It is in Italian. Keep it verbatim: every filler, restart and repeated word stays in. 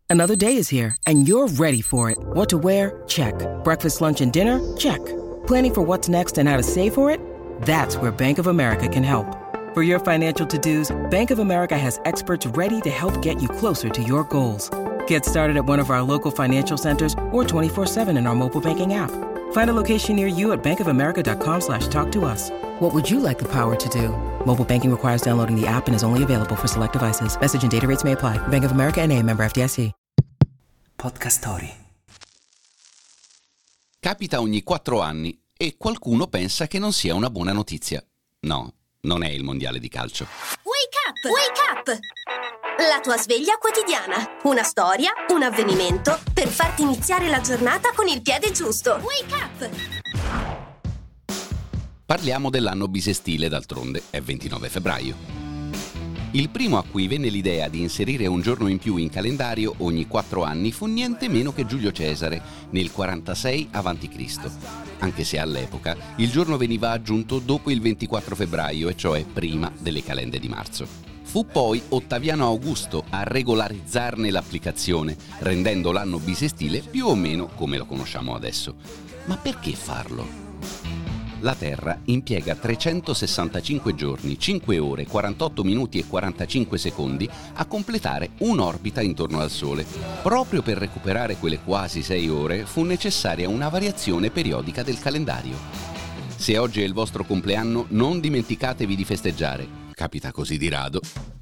Another day is here, and you're ready for it. What to wear? Check. Breakfast, lunch, and dinner? Check. Planning for what's next and how to save for it? That's where Bank of America can help. For your financial to-dos, Bank of America has experts ready to help get you closer to your goals. Get started at one of our local financial centers or twenty-four seven in our mobile banking app. Find a location near you at bankofamerica.com slash talk to us. What would you like the power to do? Mobile banking requires downloading the app and is only available for select devices. Message and data rates may apply. Bank of America N A, member F D I C. Podcast Story. Capita ogni quattro anni e qualcuno pensa che non sia una buona notizia. No, non è il mondiale di calcio. Wake up! Wake up! La tua sveglia quotidiana. Una storia, un avvenimento per farti iniziare la giornata con il piede giusto. Wake up! Parliamo dell'anno bisestile, d'altronde è ventinove febbraio. Il primo a cui venne l'idea di inserire un giorno in più in calendario ogni quattro anni fu niente meno che Giulio Cesare nel quarantasei avanti Cristo, anche se all'epoca il giorno veniva aggiunto dopo il ventiquattro febbraio, e cioè prima delle calende di marzo. Fu poi Ottaviano Augusto a regolarizzarne l'applicazione, rendendo l'anno bisestile più o meno come lo conosciamo adesso. Ma perché farlo? La Terra impiega trecentosessantacinque giorni, cinque ore, quarantotto minuti e quarantacinque secondi a completare un'orbita intorno al Sole. Proprio per recuperare quelle quasi sei ore fu necessaria una variazione periodica del calendario. Se oggi è il vostro compleanno, non dimenticatevi di festeggiare. Capita così di rado.